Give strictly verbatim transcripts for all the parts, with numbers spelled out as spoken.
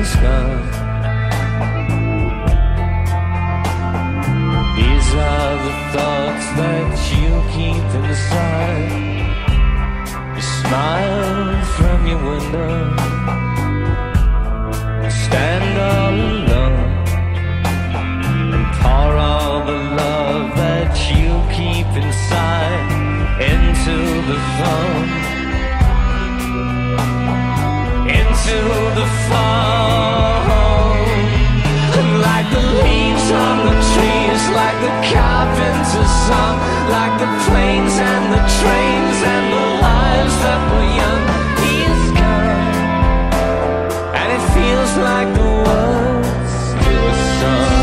he's gone. These are the thoughts that you keep inside. You smile from your window, stand all alone, and pour all the love that you keep inside into the phone, into the phone. And like the leaves on the trees, like the carpenter's song, like the planes and the trains and the lives that were young, he's gone. And it feels like the words to a song.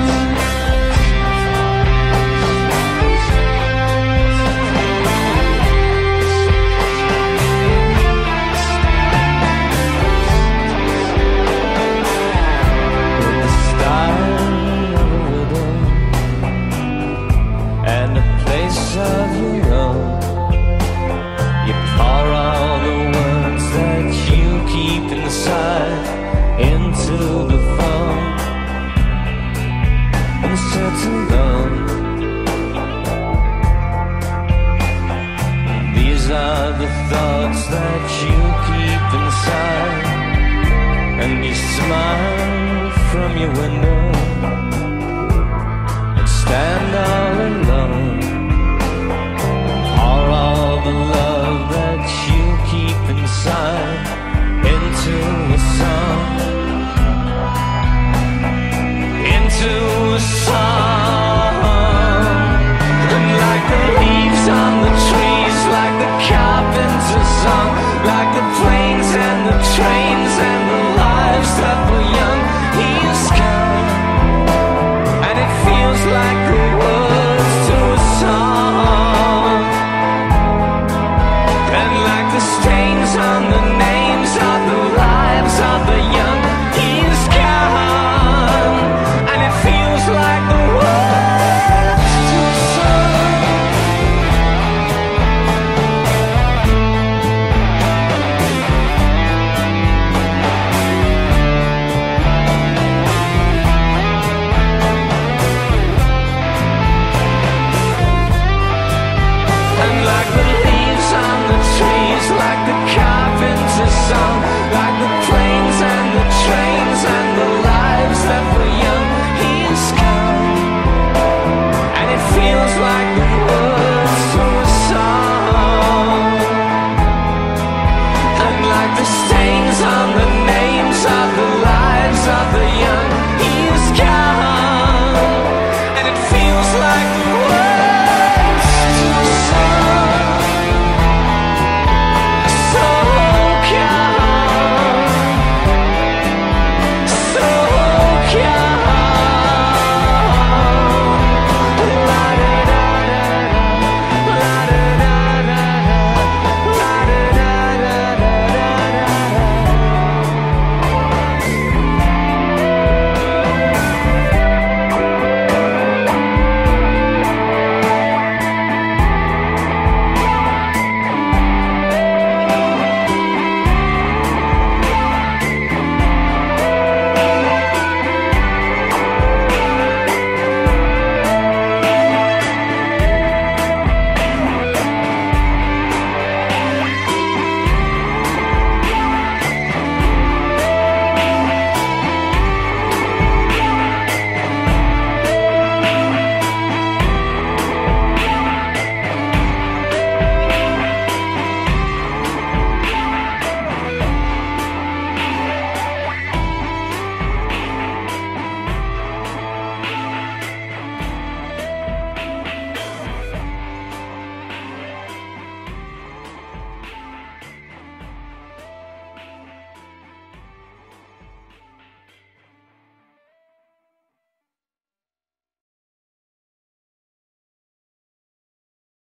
With the style of a widow and a place of your own, you pour all the words that you keep inside into the phone and sit alone. These are the thoughts that you keep inside, and you smile from your window